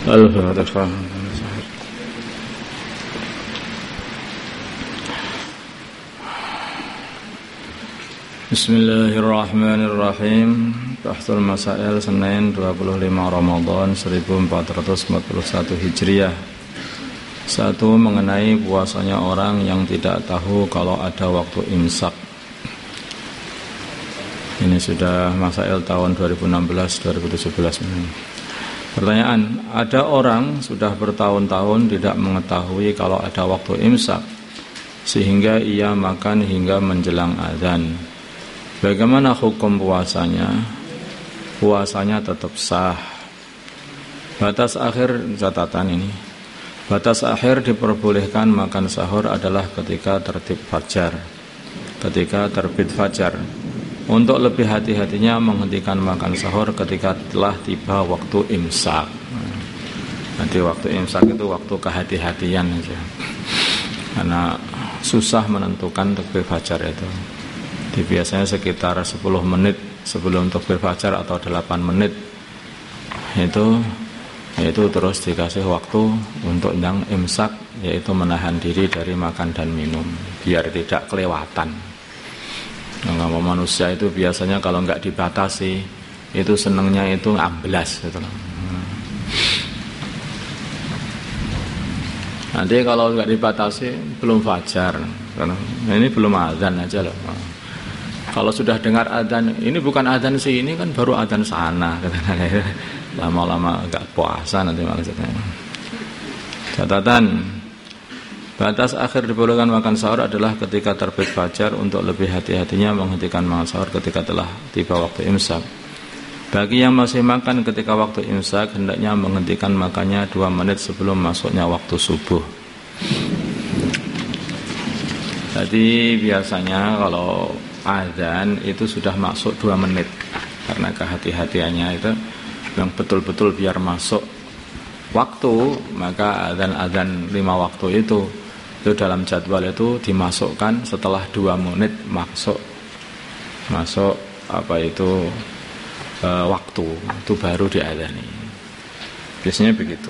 Al-Fatihah. Bismillahirrahmanirrahim. Bahthul Masail Senin 25 Ramadan 1441 Hijriah. Satu, mengenai puasanya orang yang tidak tahu kalau ada waktu imsak. Ini sudah Masail tahun 2016-2017. Pertanyaan, ada orang sudah bertahun-tahun tidak mengetahui kalau ada waktu imsak sehingga ia makan hingga menjelang azan. Bagaimana hukum puasanya? Puasanya tetap sah. Batas akhir catatan ini. Batas akhir diperbolehkan makan sahur adalah ketika terbit fajar. Ketika terbit fajar. Untuk lebih hati-hatinya menghentikan makan sahur ketika telah tiba waktu imsak. Nanti waktu imsak itu waktu kehati-hatian aja. Karena susah menentukan takbir fajar itu. Jadi biasanya sekitar 10 menit sebelum takbir fajar atau 8 menit itu terus dikasih waktu untuk yang imsak, yaitu menahan diri dari makan dan minum biar tidak kelewatan. Kalau manusia itu biasanya kalau nggak dibatasi itu senengnya itu amblas gitu. Nanti kalau nggak dibatasi belum fajar, karena ini belum azan aja loh. Kalau sudah dengar azan, ini bukan azan sih, ini kan baru azan sana. Lama-lama nggak puasa nanti maksudnya. Catatan. Batas akhir dibolehkan makan sahur adalah ketika terbit fajar. Untuk lebih hati-hatinya menghentikan makan sahur ketika telah tiba waktu imsak. Bagi yang masih makan ketika waktu imsak, hendaknya menghentikan makannya 2 menit sebelum masuknya waktu subuh. Jadi biasanya kalau azan itu sudah masuk 2 menit. Karena kehati-hatiannya itu yang betul-betul biar masuk waktu, maka azan 5 waktu itu dalam jadwal itu dimasukkan setelah 2 menit masuk waktu itu baru diadzani. Biasanya begitu.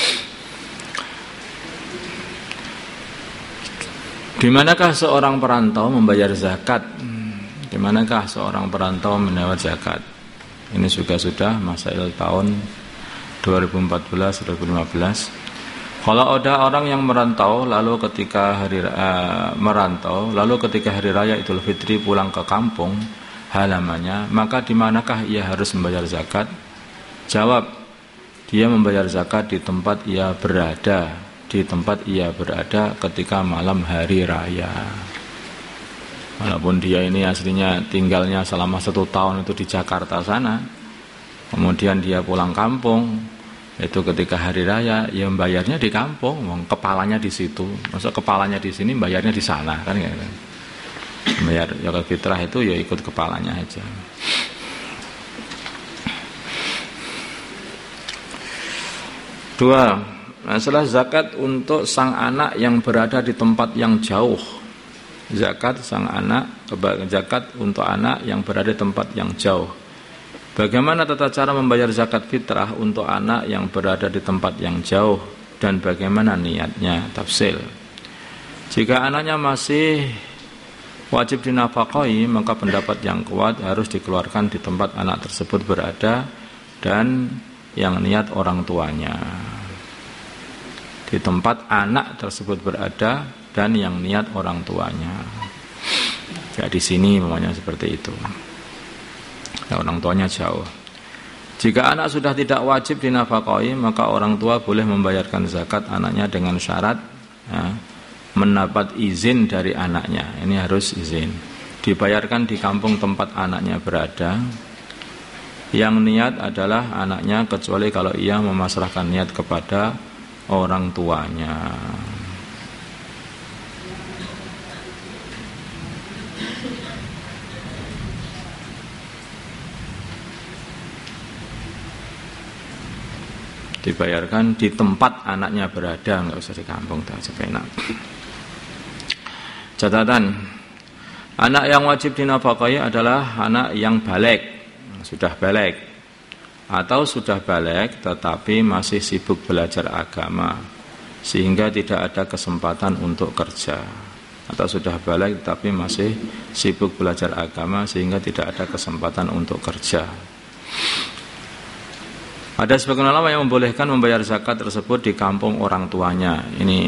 Di manakah seorang perantau membayar zakat? Di manakah seorang perantau menawar zakat? Ini juga sudah Masail tahun 2014-2015. Kalau ada orang yang merantau lalu ketika hari raya Idul Fitri pulang ke kampung halamannya, maka di manakah ia harus membayar zakat? Jawab, dia membayar zakat di tempat ia berada, ketika malam hari raya. Walaupun dia ini aslinya tinggalnya selama 1 tahun itu di Jakarta sana, kemudian dia pulang kampung, itu ketika hari raya, ya bayarnya di kampung, kepalanya di situ. Masa kepalanya di sini, bayarnya di sana, kan gitu. Bayar zakat fitrah itu ya ikut kepalanya aja. Dua, masalah zakat untuk sang anak yang berada di tempat yang jauh. Zakat untuk anak yang berada di tempat yang jauh. Bagaimana tata cara membayar zakat fitrah untuk anak yang berada di tempat yang jauh dan bagaimana niatnya? Tafsil. Jika anaknya masih wajib dinafkahi, maka pendapat yang kuat harus dikeluarkan di tempat anak tersebut berada dan yang niat orang tuanya. Di tempat anak tersebut berada dan yang niat orang tuanya. Ya di sini namanya seperti itu. Orang tuanya jauh. Jika anak sudah tidak wajib dinafkahi, maka orang tua boleh membayarkan zakat anaknya dengan syarat mendapat izin dari anaknya. Ini harus izin. Dibayarkan di kampung tempat anaknya berada. Yang niat adalah anaknya, kecuali kalau ia memasrahkan niat kepada orang tuanya. Dibayarkan di tempat anaknya berada, nggak usah di kampung, tak sepenak. Catatan, anak yang wajib dinafkahi adalah anak yang baligh, sudah baligh. atau sudah balik tetapi masih sibuk belajar agama sehingga tidak ada kesempatan untuk kerja, atau sudah balik tetapi masih sibuk belajar agama sehingga tidak ada kesempatan untuk kerja. Ada sebagian ulama yang membolehkan membayar zakat tersebut di kampung orang tuanya. Ini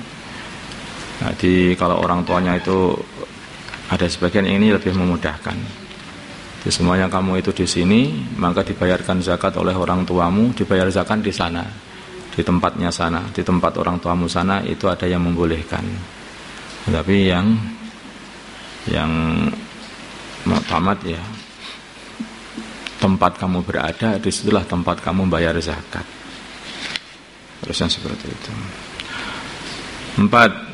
jadi kalau orang tuanya itu ada sebagian ini lebih memudahkan. Jadi semuanya kamu itu di sini, maka dibayarkan zakat oleh orang tuamu, dibayar zakat di sana, di tempatnya sana, di tempat orang tuamu sana, itu ada yang membolehkan. Tapi yang muktamad ya, tempat kamu berada, disitulah tempat kamu bayar zakat. Terus yang seperti itu. 4.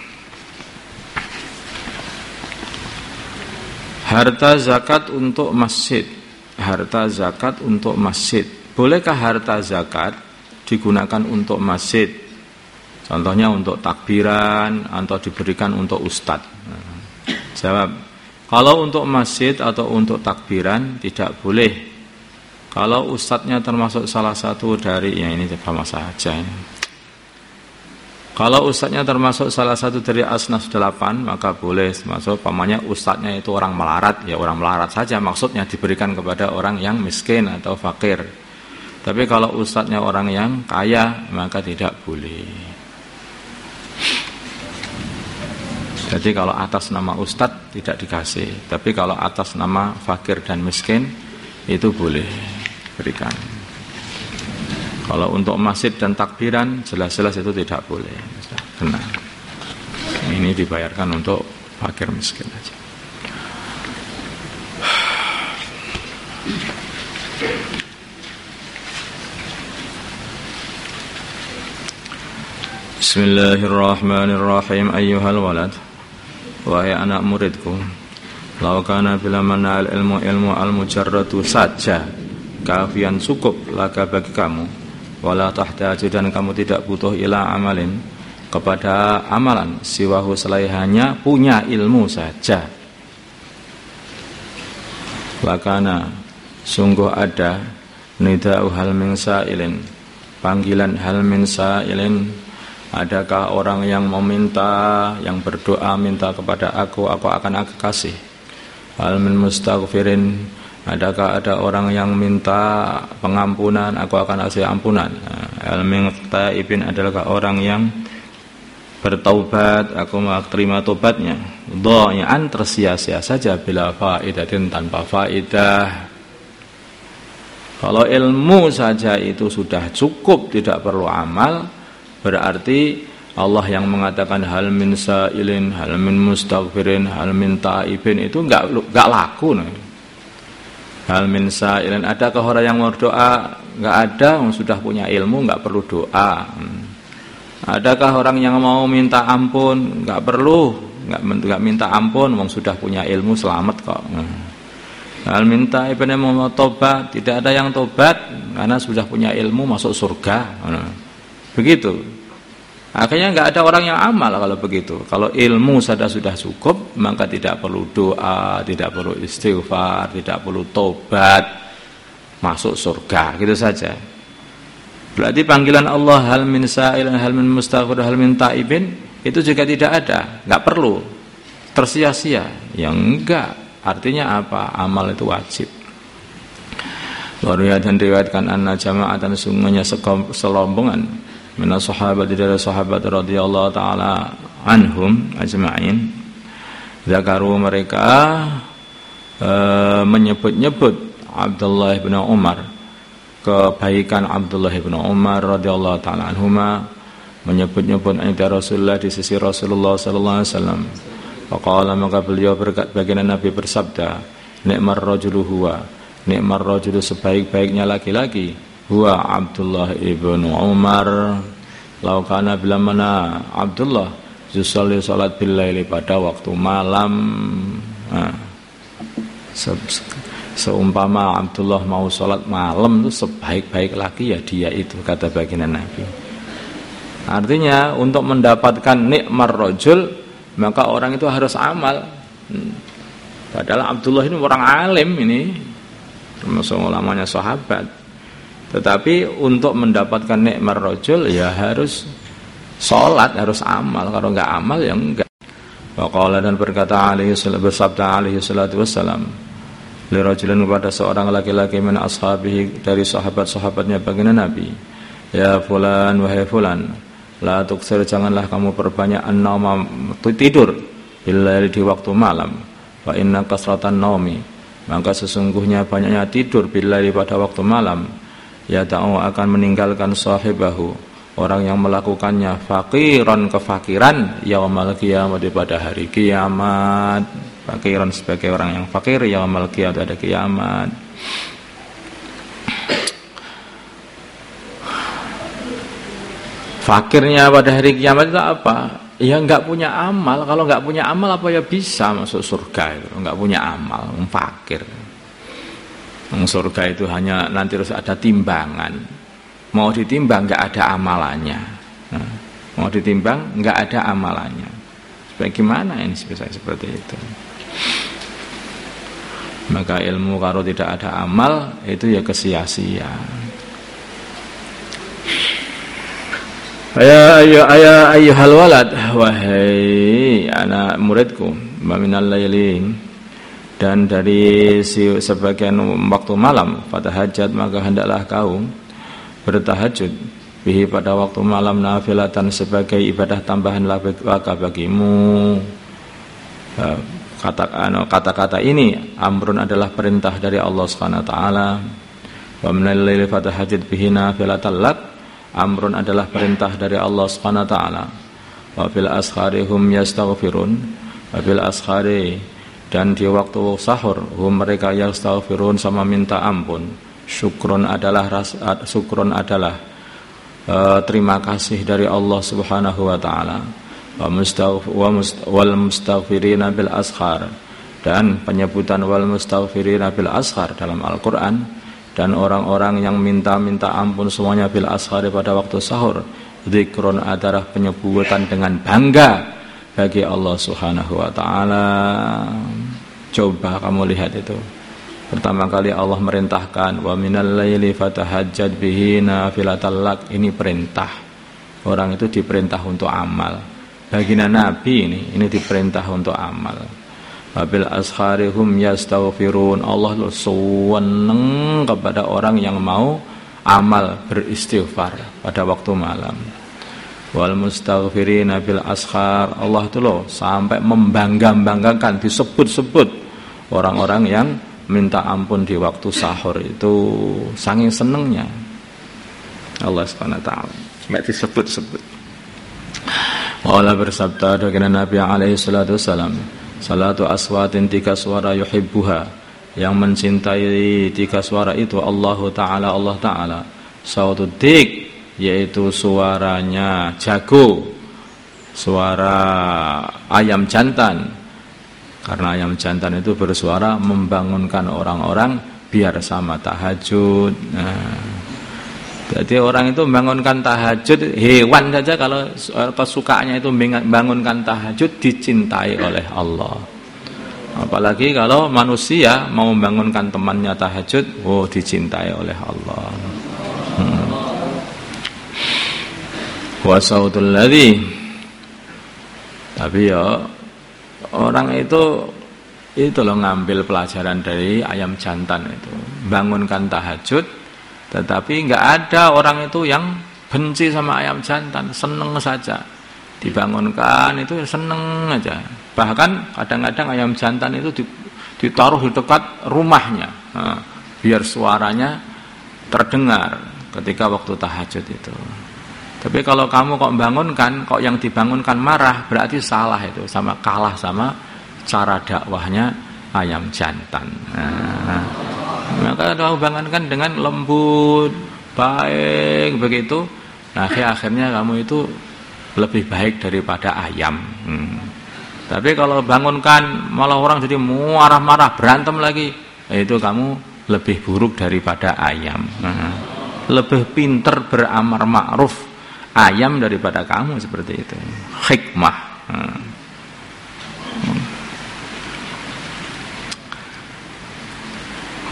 Harta zakat untuk masjid. Harta zakat untuk masjid. Bolehkah harta zakat digunakan untuk masjid? Contohnya untuk takbiran atau diberikan untuk ustadz. Jawab, kalau untuk masjid atau untuk takbiran tidak boleh. Kalau ustadznya termasuk salah satu dari, ya ini sama saja. Kalau ustadznya termasuk salah satu dari asnaf 8, maka boleh. Termasuk pamannya ustadznya itu orang melarat, ya orang melarat saja, maksudnya diberikan kepada orang yang miskin atau fakir. Tapi kalau ustadznya orang yang kaya, maka tidak boleh. Jadi kalau atas nama ustadz tidak dikasih, tapi kalau atas nama fakir dan miskin itu boleh berikan. Kalau untuk masjid dan takbiran jelas-jelas itu tidak boleh. Kena. Ini dibayarkan untuk fakir miskin aja. Bismillahirrahmanirrahim. Ayyuhal walad, wahai anak muridku, law kana bila manal ilmu al-mujarradu saja kafian cukup laka bagi kamu, wala tahtaju dan kamu tidak butuh ila amalin kepada amalan siwahu selain hanya punya ilmu saja. Lakana sungguh ada nida'u hal min sa'ilin, panggilan hal min sa'ilin, adakah orang yang meminta, yang berdoa minta kepada aku akan aku kasih. Hal min mustaghfirin, adakah ada orang yang minta pengampunan, aku akan kasih ampunan. Al-min taibin, adalah orang yang bertaubat, aku mau terima tobatnya. Dhai'an, tersia-sia saja, bila faidatin, tanpa faidah. Kalau ilmu saja itu sudah cukup, tidak perlu amal, berarti Allah yang mengatakan hal min sa'ilin, hal min mustaghfirin, hal min taibin itu enggak laku. Hal min sa'ilin, adakah orang yang mau berdoa? Enggak ada, yang sudah punya ilmu enggak perlu doa. Adakah orang yang mau minta ampun? Enggak perlu, enggak minta ampun, wong sudah punya ilmu, selamat kok. Hal min taibin, mau tobat, tidak ada yang tobat karena sudah punya ilmu masuk surga. Begitu. Akhirnya enggak ada orang yang amal kalau begitu. Kalau ilmu saja sudah cukup, maka tidak perlu doa, tidak perlu istighfar, tidak perlu tobat, masuk surga, gitu saja. Berarti panggilan Allah hal min sa'ilin, hal min mustaghfir, hal min taibin itu juga tidak ada, enggak perlu. Tersia-sia. Ya enggak. Artinya apa? Amal itu wajib. Waruya dan riwayatkan anna jama'atan sungguhnya selombongan minas sahabat, dari sahabat radhiyallahu taala anhum ajma'in, zakaru, mereka menyebut-nyebut Abdullah bin Umar, kebaikan Abdullah bin Umar radhiyallahu taala anhuma, menyebut-nyebut inda Rasulullah, di sisi Rasulullah sallallahu alaihi wasallam. Faqala, maka beliau baginda Nabi bersabda, ni'mar rajulu huwa, ni'mar rajulu, sebaik-baiknya laki-laki, huwa Abdullah ibn Umar. Laukana, bila mana Abdullah yusalli salat billaili, pada waktu malam. Seumpama Abdullah mau salat malam itu sebaik-baik laki ya dia itu, kata baginda Nabi. Artinya untuk mendapatkan nikmar rajul, maka orang itu harus amal. Padahal Abdullah ini orang alim, ini termasuk ulamanya sahabat. Tetapi untuk mendapatkan nikmat rajul ya harus sholat, harus amal. Kalau enggak amal ya enggak. Waqala dan berkata bersabda alaihi salatu wassalam li rajulin kepada seorang laki-laki min ashabihi dari sahabat-sahabatnya baginda Nabi, ya fulan wahai fulan, la tuksir janganlah kamu perbanyak an-nauma tidur billaili di waktu malam, fa inna kasratan naumi maka sesungguhnya banyaknya tidur billaili pada waktu malam ya ta'u akan meninggalkan sahibahu orang yang melakukannya faqiran kefakiran yaumal qiyamah pada hari kiamat. Faqiran sebagai orang yang fakir yaumal qiyamah pada kiamat. Fakirnya pada hari kiamat itu apa? Ya enggak punya amal. Kalau enggak punya amal apa ya bisa masuk surga itu? Enggak punya amal, fakir. Surga itu hanya nanti harus ada timbangan. Mau ditimbang nggak ada amalannya, mau ditimbang nggak ada amalannya. Bagaimana ini bisa seperti itu? Maka ilmu kalau tidak ada amal itu ya kesia-sia. Ayyuhal walad, wahai anak muridku, minal lailin, dan dari sebagian waktu malam, fatahajjat maka hendaklah kau bertahajud bihi pada waktu malam nafilatan sebagai ibadah tambahan laka bagimu. Kata-kata ini amrun adalah perintah dari Allah Subhanahu wa taala. Wa minal laili fatahajjat bihi nafilatan lak, amrun adalah perintah dari Allah Subhanahu wa taala. Wa fil ashari hum yastaghfirun, wa fil ashari dan di waktu sahur hum mereka yastaghfirun sama minta ampun. Syukrun adalah terima kasih dari Allah Subhanahu wa taala. Wal mustaghfirina bil ashar, dan penyebutan wal mustaghfirina bil ashar dalam Al-Qur'an, dan orang-orang yang minta ampun semuanya bil ashar pada waktu sahur. Zikrun adalah penyebutan dengan bangga bagi Allah Subhanahu wa taala. Coba kamu lihat itu. Pertama kali Allah merintahkan wa minal laili fatahajjat bihi nafilatan lak, ini perintah. Orang itu diperintah untuk amal. Baginda Nabi ini diperintah untuk amal. Wabil asharihum yastaghfirun, Allah seneng kepada orang yang mau amal beristighfar pada waktu malam. Wal mustaghfirina bil ashar, Allah itu loh sampai membangga-banggakan, disebut-sebut orang-orang yang minta ampun di waktu sahur itu saking senengnya Allah Subhanahu wa taala sampai disebut-sebut. Allah bersabda dengan Nabi alaihi salatu wasalam, salatu aswatin, 3 suara yuhibbuha, yang mencintai 3 suara itu Allah taala sautud dik, yaitu suaranya jago, suara ayam jantan. Karena ayam jantan itu bersuara membangunkan orang-orang biar sama tahajud. Jadi orang itu membangunkan tahajud, hewan saja kalau kesukaannya itu membangunkan tahajud dicintai oleh Allah. Apalagi kalau manusia mau membangunkan temannya tahajud, dicintai oleh Allah. Wa sautul ladzi, tapi ya orang itu loh ngambil pelajaran dari ayam jantan itu, bangunkan tahajud, tetapi nggak ada orang itu yang benci sama ayam jantan, seneng saja dibangunkan itu seneng aja. Bahkan kadang-kadang ayam jantan itu ditaruh di dekat rumahnya, biar suaranya terdengar ketika waktu tahajud itu. Tapi kalau kamu kok bangunkan, kok yang dibangunkan marah, berarti salah itu, sama kalah sama cara dakwahnya ayam jantan. Maka kamu bangunkan dengan lembut, baik begitu. Nah, akhirnya kamu itu lebih baik daripada ayam. Tapi kalau bangunkan malah orang jadi marah-marah, berantem lagi, itu kamu lebih buruk daripada ayam. Lebih pinter beramar ma'ruf ayam daripada kamu, seperti itu. Hikmah.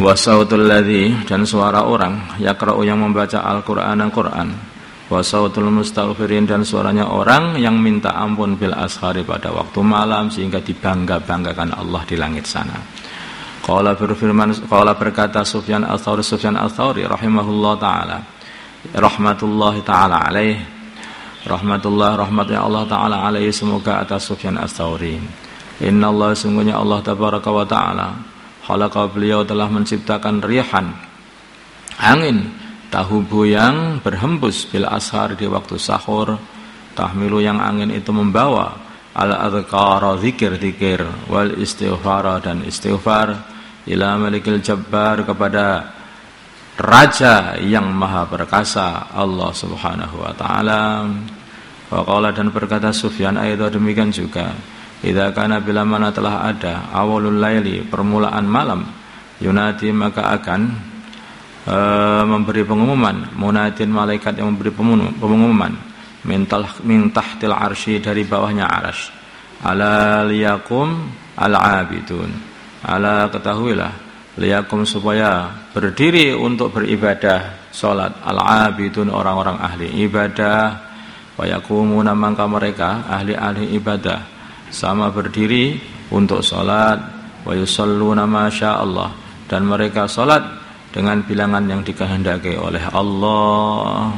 Wa sautul ladzi, dan suara orang yaqra'u yang membaca Al-Qur'an, wa sautul mustaghfirin, dan suaranya orang yang minta ampun bil ashari pada waktu malam sehingga dibangga-banggakan Allah di langit sana. Qala berkata Sufyan Ats-Tsauri rahimahullah taala, rahmatullahi taala alaih, rahmatnya Allah taala alaihi semoga atas Sufyan Ats-Tsauri. Innallaha, sungguhnya Allah tabaraka wa taala, khalaqa, beliau telah menciptakan rihan, angin, tahubu yang berhembus bil ashar di waktu sahur, tahmilu yang angin itu membawa al-adhkara, zikir wal istighfara, dan istighfar, ila malikil jabbar, kepada raja yang maha perkasa, Allah subhanahu wa ta'ala. Wa qala, dan berkata Sufyan, ayat demikian juga, idza kana, bila mana telah ada awalul laili, permulaan malam, yunati, maka akan memberi pengumuman, munadin, malaikat yang memberi pengumuman, min tahtil arsy, dari bawahnya arsy, ala liyakum al-abidun, ala, ketahuilah, liyakum, supaya berdiri untuk beribadah salat, al-abidun, orang-orang ahli ibadah, wa yakumuna, maka mereka ahli-ahli ibadah sama berdiri untuk salat, wa yusalluna ma sya'allah, dan mereka salat dengan bilangan yang dikehendaki oleh Allah.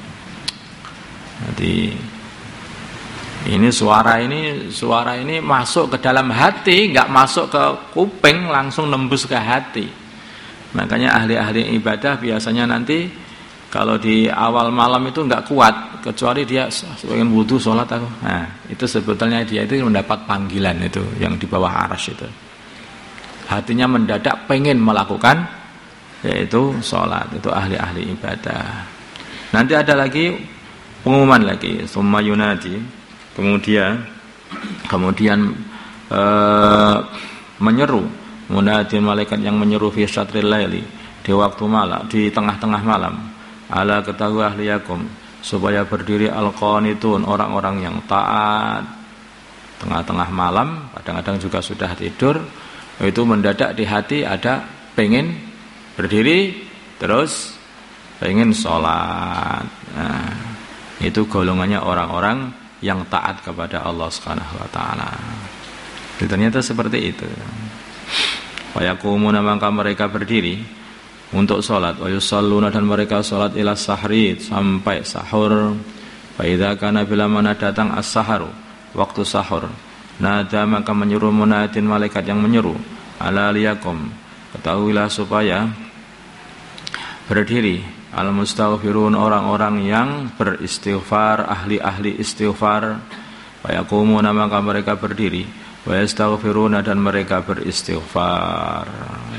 Jadi ini suara ini masuk ke dalam hati, enggak masuk ke kuping, langsung nembus ke hati. Makanya ahli-ahli ibadah biasanya nanti kalau di awal malam itu enggak kuat, kecuali dia pengen wudu sholat aku. Nah, itu sebetulnya dia itu mendapat panggilan itu yang di bawah arsy itu. Hatinya mendadak pengen melakukan, yaitu sholat, itu ahli-ahli ibadah. Nanti ada lagi pengumuman lagi, summa yunadi, kemudian menyeru, munadin, malaikat yang menyeru, fi syatril laili, di waktu malam, di tengah-tengah malam, ala, ketahui ahliyakum, supaya berdiri al-qanitun, orang-orang yang taat. Tengah-tengah malam, kadang-kadang juga sudah tidur, itu mendadak di hati ada pengen berdiri, terus pengen sholat. Nah, itu golongannya orang-orang yang taat kepada Allah Subhanahu wa taala. Ternyata seperti itu. Wa yaqumuna, maka mereka berdiri untuk sholat, wa yusalluna, dan mereka sholat ila sahri, sampai sahur. Fa idza kana, bila mana datang as-saharu, waktu sahur, nada, maka menyeru munadin, malaikat yang menyeru, ala liyakum, ketahuilah supaya berdiri al-mustaghfirun, orang-orang yang beristighfar, ahli-ahli istighfar. Wa yaqumuna, maka mereka berdiri, wa yastaghfiruna, dan mereka beristighfar.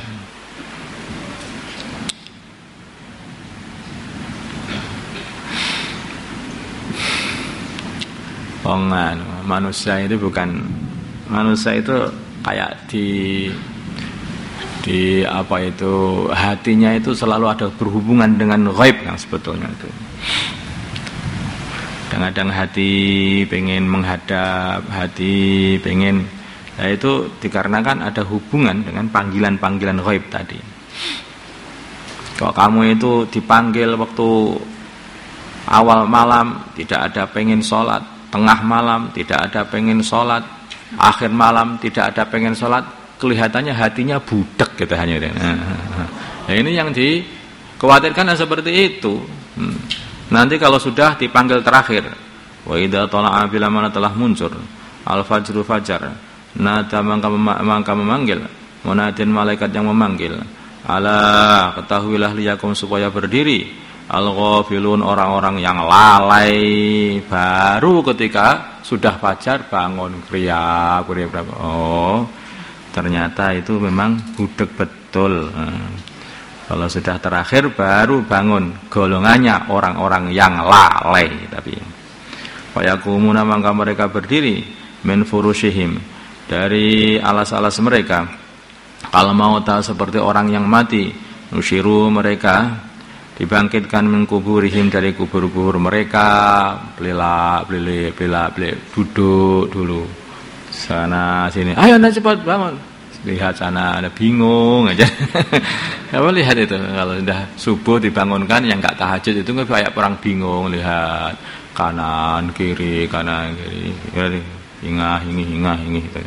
Manusia itu bukan, manusia itu kayak di apa itu, hatinya itu selalu ada berhubungan dengan ghaib yang sebetulnya itu. Kadang-kadang hati pengen menghadap, hati pengen, nah itu dikarenakan ada hubungan dengan panggilan-panggilan ghaib tadi. Kalau kamu itu dipanggil waktu awal malam, tidak ada pengen sholat, tengah malam tidak ada pengen sholat, akhir malam tidak ada pengen sholat, kelihatannya hatinya budak gitu hanya. Nah, ini yang dikhawatirkan seperti itu. Nanti kalau sudah dipanggil terakhir, wa idza tala'a, bila mana telah muncul al-fajru, fajar, nada, maka memanggil, munadin, malaikat yang memanggil, ala, ketahuilah liyakum, supaya berdiri al-ghafilun, orang-orang yang lalai, baru ketika sudah fajar bangun kriya. Oh, ternyata itu memang budak betul. Kalau sudah terakhir baru bangun, golongannya orang-orang yang lalai. Tapi fayakumuna, maka mereka berdiri, min furushihim, dari alas-alas mereka, kal mauta, seperti orang yang mati, nusyiru, mereka dibangkitkan, min kuburihim, dari kubur-kubur mereka, beli, duduk dulu, sana sini, ayo anda cepat bangun, lihat sana, ada bingung aja. Apa lihat itu kalau sudah subuh dibangunkan yang nggak tahajud itu kayak orang bingung lihat kanan kiri hingga gitu.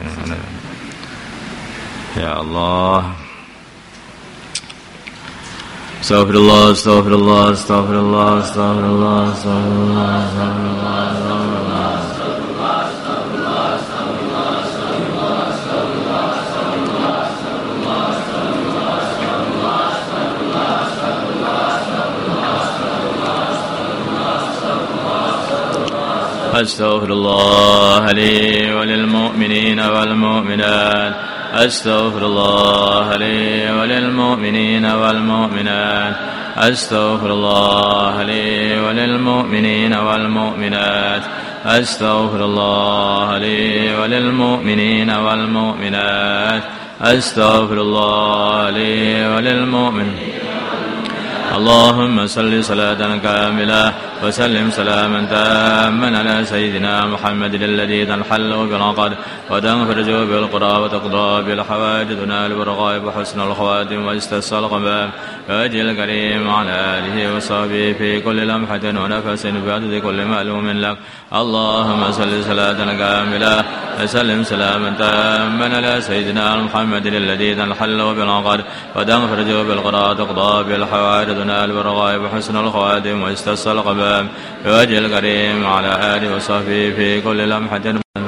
Ya Allah. Astagfirullah, astagfirullah, astagfirullah, astagfirullah, astagfirullah, astagfirullah, أستغفر الله لي وللمؤمنين والمؤمنات أستغفر الله لي وللمؤمنين والمؤمنات أستغفر الله لي وللمؤمنين والمؤمنات أستغفر الله لي وللمؤمنين والمؤمنات أستغفر الله لي وللمؤمنين. اللهم صل صلاة كاملة وسلم سلاما تاما على سيدنا محمد الذي تنحل بالعقد وتنفرج بالقرى وتقضى بالحوائج تنال بالرغائب وحسن الخواتم واستسقى الغمام وجه الكريم على آله وصحبه في كل لمحة ونفس بعدد كل معلوم لك. اللهم صل صلاة كاملة وسلم سلاما تاما على سيدنا محمد الذي تنحل بالعقد وتنفرج بالقرى وتقضى بالحوائج تنال بالرغائب وحسن الخواتم واستسقى الغمام بوجه الكريم على آله وصحبه في كل لمحة.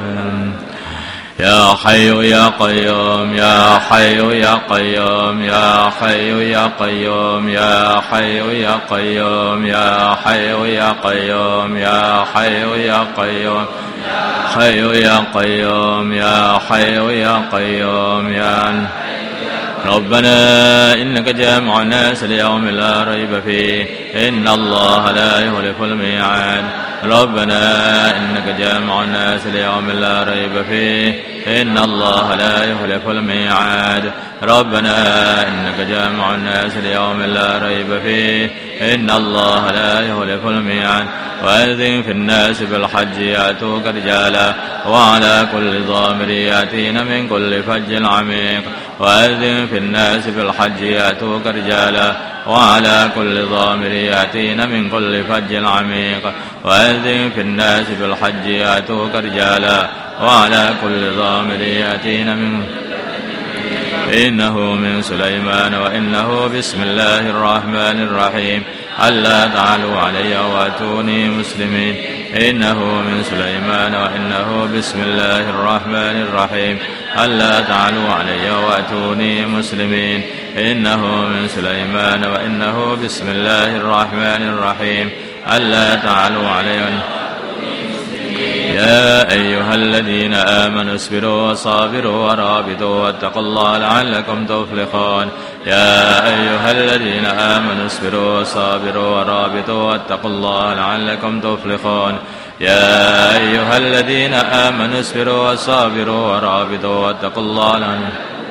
يا حي يا قيوم يا حي يا قيوم يا حي يا قيوم يا حي يا قيوم يا حي يا قيوم يا حي يا قيوم حي يا قيوم يا حي يا قيوم يا ربنا إنك جامع الناس ليوم لا ريب فيه إن الله لا يخلف الميعاد. ربنا إنك جامع الناس ليوم لا ريب فيه إن الله لا يخلف الميعاد. ربنا إنك جامع الناس ليوم لا ريب فيه إن الله لا يخلف الميعاد. وأذن في الناس بالحج يأتوك رجالا وعلى كل ضامر يأتين من كل فج عميق. وأذن في الناس بالحج يأتوك رجالا وعلى كل ضامر يأتين من كل فج عميق. وأذن في الناس بالحج يأتوك رجالا وعلى كل ضامر يأتين من إنه من سليمان وإنه بسم الله الرحمن الرحيم ألا تعلوا علي وأتوني مسلمين. إنه من سليمان وإنه بسم الله الرحمن الرحيم ألا تعلوا علي وأتوني مسلمين. إنه من سليمان وإنه بسم الله الرحمن الرحيم ألا تعلوا علي. يا أيها الذين آمنوا اصبروا وصابروا ورابطوا واتقوا الله لعلكم تفلحون. يا أيها الذين آمنوا اصبروا وصابروا ورابطوا واتقوا الله لعلكم تفلحون. يا أيها الذين آمنوا اصبروا وصابروا ورابطوا واتقوا الله لعلكم.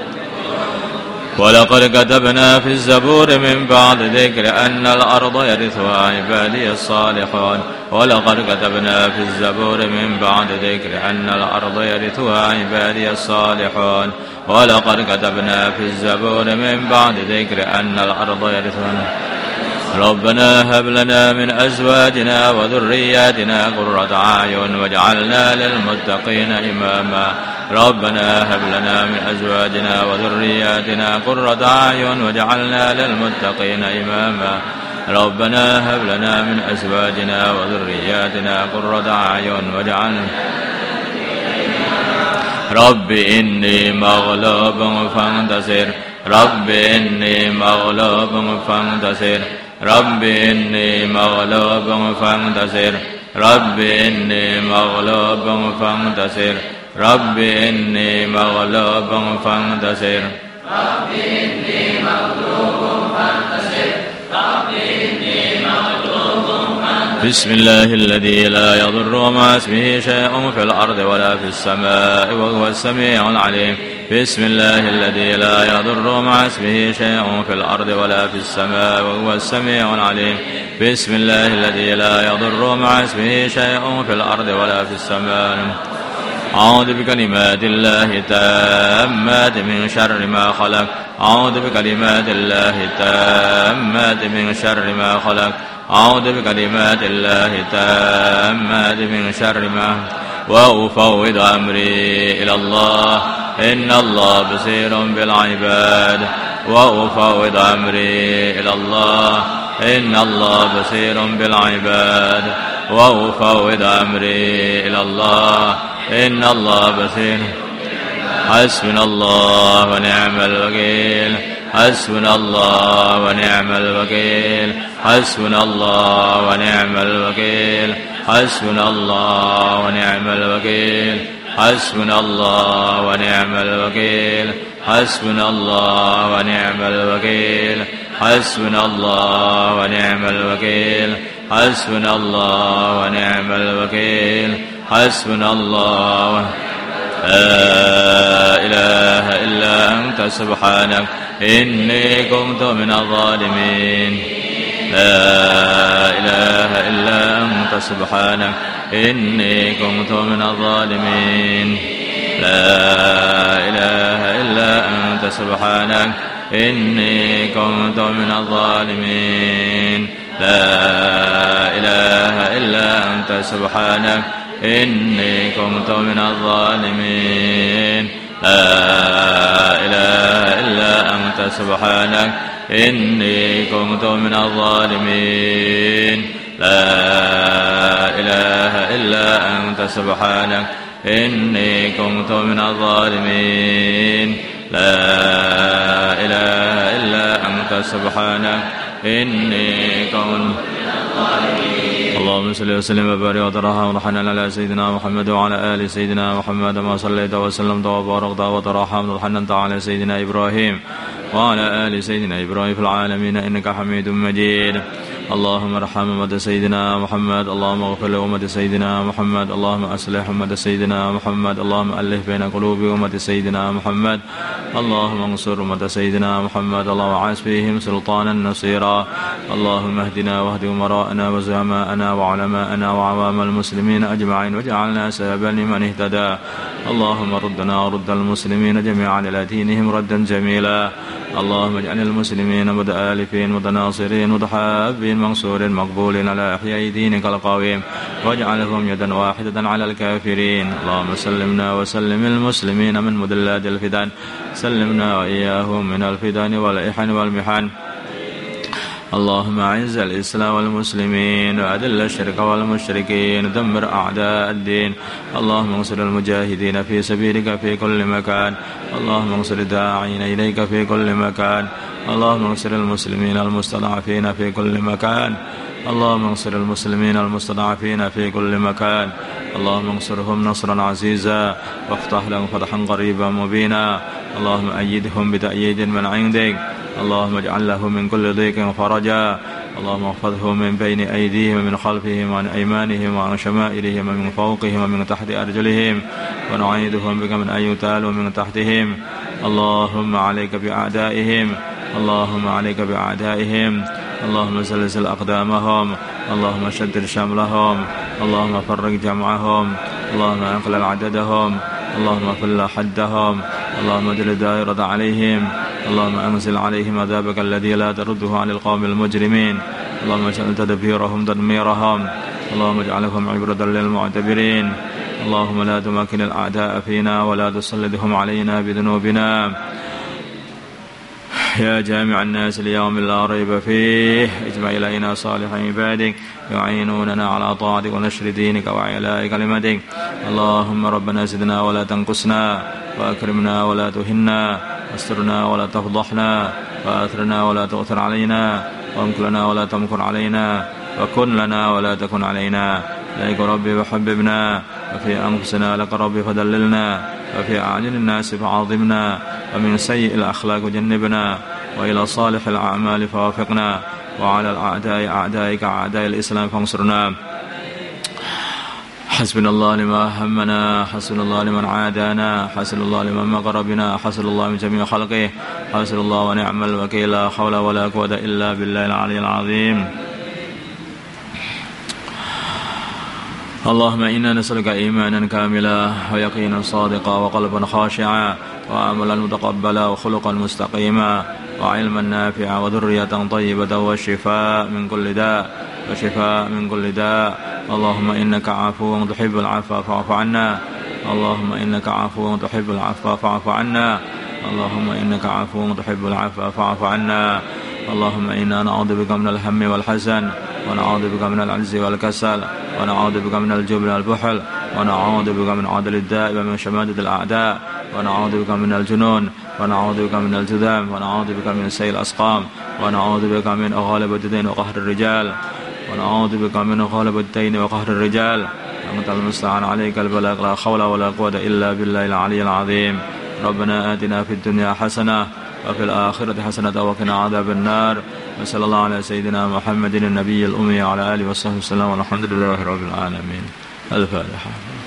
ولقد كتبنا في الزبور من بعد ذكر أن الأرض يرثها عبادي الصالحون. ولقد كتبنا في الزبور من بعد ذكر أن الأرض يرثها عبادي الصالحون. ولقد كتبنا في الزبور من بعد ذكر أن الأرض يرثها. ربنا هب لنا من أزواجنا وذرياتنا قرة أعين واجعلنا للمتقين إماما. ربنا هب لنا من أزواجنا وذرياتنا قرة أعين واجعلنا للمتقين إماما. ربنا هب لنا من أزواجنا وذرياتنا قرة أعين واجعلنا. رب إني مغلوب فانتصر. رب إني مغلوب فانتصر. رب إني مغلوب فانتصر. رب إني مغلوب فانتصر. رب إني مغلوب فانتصر. رب إني مغلوب فانتصر. رب إني مغلوب فانتصر. بسم الله الذي لا يضر مع اسمه شيء في الأرض ولا في السماء وهو السميع العليم. بسم الله الذي لا يضر مع اسمه شيء في الأرض ولا في السماء وهو السميع العليم. بسم الله الذي لا يضر مع اسمه شيء في الأرض ولا في السماء أعوذ بكلمات الله التامات من شر ما خلق أعوذ بكلمات الله التامات من شر ما خلق أعوذ بكلمات الله التامات من شر ما وأفوض أمري إلى الله إن الله بصير بالعباد وأفوض أمري إلى الله إن الله بصير بالعباد وأفوض أمري إلى الله إن الله بصير حسبنا الله ونعم الوكيل حسبنا الله ونعم الوكيل حسبنا الله ونعم الوكيل حسبنا الله ونعم الوكيل حسبنا الله ونعم الوكيل حسبنا الله ونعم الوكيل حسبنا الله ونعم الوكيل حسبنا الله ونعم الوكيل حسبنا الله لا إله إلا أنت سبحانك إني كنت من الظالمين لا إله إلا أنت سبحانك إني كنت من الظالمين لا إله إلا أنت سبحانك إني كنت من الظالمين لا إله إلا أنت سبحانك إني كنت من الظالمين لا إله إلا أنت سبحانك إني كنت من الظالمين لا إله إلا أنت سبحانك إني كنت من الظالمين لا إله إلا أنت سبحانك إني كنت من الظالمين. اللهم صل وسلم وبارك وترحم ورحمنا على سيدنا محمد وعلى آل سيدنا محمد ما صليت وسلمت وباركت وترحمت وحننت على سيدنا إبراهيم وعلى آل سيدنا إبراهيم في العالمين إنك حميد مجيد. اللهم ارحم أمة سيدنا محمد اللهم اغفر لأمة سيدنا محمد اللهم أصلح أمة سيدنا محمد اللهم ألف بين قلوب أمة سيدنا محمد اللهم انصر أمة سيدنا محمد اللهم عاش فيهم سلطانا نصيرا اللهم اهدنا واهد أمراءنا وزعماءنا وعلماءنا وعوام المسلمين أجمعين واجعلنا سببا لمن اهتدى. اللهم ردنا ورد المسلمين جميعا إلى دينهم ردا جميلا. اللهم اجعل المسلمين متآلفين متناصرين متحابين منصور مقبول على إحياء دينك القويم واجعلهم يدا واحدة على الكافرين. اللهم سلمنا وسلم المسلمين من مدلات الفتن سلمنا وإياهم من الفتن والإحن والمحن. اللهم أعز الإسلام والمسلمين وأذل الشرك والمشركين دمر أعداء الدين. اللهم انصر المجاهدين في سبيلك في كل مكان. اللهم انصر الداعين إليك في كل مكان. اللهم انصر المسلمين المستضعفين في كل مكان. اللهم انصر المسلمين المستضعفين في كل مكان. اللهم انصرهم نصرا عزيزا وافتح لهم فتحا قريبا مبينا. اللهم أيدهم بتأييد من عندك. اللهم اجعل له من كل ضيق فرجا. اللهم احفظهم من بين أيديهم ومن خلفهم وعن أيمانهم وعن شمائلهم ومن فوقهم ومن تحت أرجلهم ونعيذهم بك من أن يغتالوا من تحتهم. اللهم عليك بأعدائهم. اللهم عليك بأعدائهم. اللهم زلزل أقدامهم. اللهم شدد شملهم. اللهم فرق جمعهم. اللهم أقلل عددهم. اللهم فل حدهم. اللهم اجعل دائرة عليهم. اللهم أنزل عليهم عذابك الذي لا ترده عن القوم المجرمين. اللهم اجعل تدبيرهم تدميرهم. اللهم اجعلهم عبرة للمعتبرين. اللهم لا تمكن الأعداء فينا ولا تسلطهم علينا بذنوبنا. يا جامع الناس اليوم لا ريب فيه اجمع إلينا صالح عبادك يعينوننا على طاعتك ونشر دينك وإعلاء كلمتك. اللهم ربنا زدنا ولا تنقصنا وأكرمنا ولا تهنا واسترنا ولا تفضحنا وآثرنا ولا تؤثر علينا وامكر لنا ولا تمكر علينا وكن لنا ولا تكن علينا. إليك ربي وحببنا وفي أنفسنا لك ربي فدللنا وفي أعين الناس فعظمنا ومن سيء الأخلاق جنبنا وإلى صالح الأعمال فوافقنا وعلى الأعداء أعدائك أعداء الإسلام فانصرنا. حسبنا الله لما همنا حسبنا الله لمن عادانا حسبنا الله لمن مكر بنا حسبنا الله من جميع خلقه حسبنا الله ونعم الوكيل لا حول ولا قوة إلا بالله العلي العظيم. اللهم إنا نسألك إيمانا كاملا ويقينا صادقا وقلبا خاشعا وعملا متقبلا وخلقا مستقيما وعلما نافعا وذرية طيبة وشفاء من كل داء اللهم إنك عفو تحب العفو فاعف عنا اللهم إنك عفو تحب العفو فاعف عنا اللهم إنك عفو تحب العفو فاعف عنا اللهم إنا نعوذ بك من الهم والحزن ونعوذ بك من العجز والكسل ونعوذ بك من الجبن والبخل ونعوذ بك من عدل الداء ومن شماتة الأعداء ونعوذ بك من الجنون ونعوذ بك من الجذام ونعوذ بك من سيء الأسقام ونعوذ بك من غلبة الدين وقهر الرجال ونعوذ بك من غلبة الدين وقهر الرجال أنت المستعان عليك البلاغ لا حول ولا قوة إلا بالله العلي العظيم ربنا آتنا في الدنيا حسنة وفي الآخرة حسنة وقنا عذاب النار وصلى الله على سيدنا محمد النبي الأمي وعلى آله وصحبه وسلم والحمد لله رب العالمين. الفاتحة.